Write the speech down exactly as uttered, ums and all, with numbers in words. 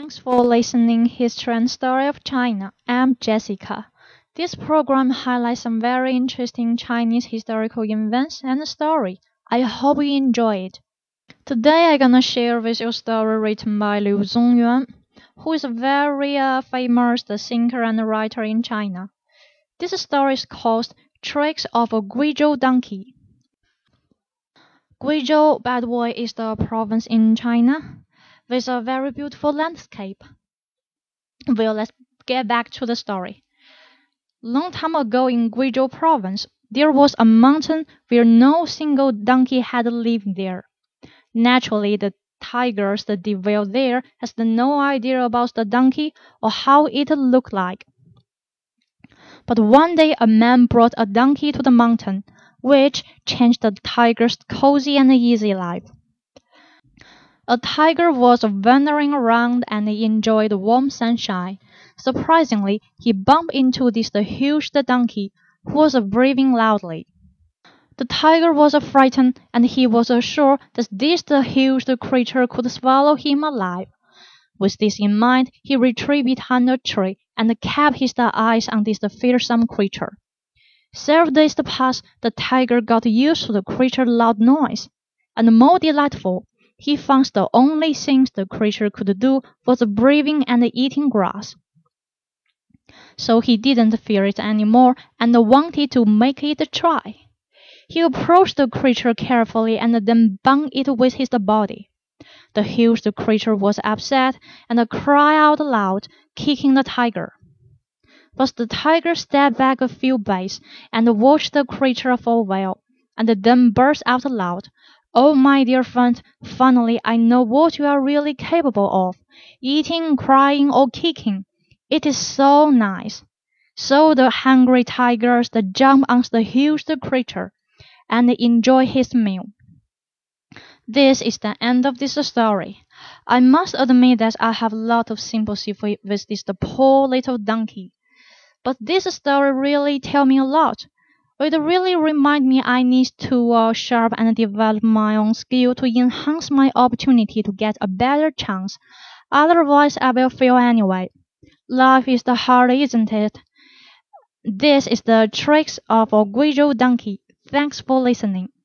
Thanks for listening History and Story of China. I'm Jessica. This program highlights some very interesting Chinese historical events and story. I hope you enjoy it. Today I'm gonna share with you a story written by Liu Zongyuan, who is a very uh, famous thinker and writer in China. This story is called Tricks of a Guizhou Donkey. Guizhou, by the way, is the province in China with a very beautiful landscape. Well, let's get back to the story. Long time ago in Guizhou province, there was a mountain where no single donkey had lived there. Naturally, the tigers that dwell there has no idea about the donkey or how it looked like. But one day a man brought a donkey to the mountain, which changed the tiger's cozy and easy life. A tiger was wandering around and he enjoyed the warm sunshine. Surprisingly, he bumped into this huge donkey, who was breathing loudly. The tiger was frightened, and he was sure that this huge creature could swallow him alive. With this in mind, he retreated behind a tree and kept his eyes on this fearsome creature. Several days passed, the tiger got used to the creature's loud noise, and more delightful, he found the only things the creature could do was breathing and eating grass. So he didn't fear it anymore and wanted to make it try. He approached the creature carefully and then bound it with his body. The huge creature was upset and cried out loud, kicking the tiger. But the tiger stepped back a few paces and watched the creature for a while, and then burst out loud, "Oh, my dear friend, finally I know what you are really capable of, eating, crying, or kicking. It is so nice." So the hungry tigers jumped on the huge creature and enjoyed his meal. This is the end of this story. I must admit that I have a lot of sympathy for, with this poor little donkey. But this story really tells me a lot. It really reminds me I need to uh, sharpen and develop my own skill to enhance my opportunity to get a better chance. Otherwise, I will fail anyway. Life is the hard, isn't it? This is the tricks of a Guizhou donkey. Thanks for listening.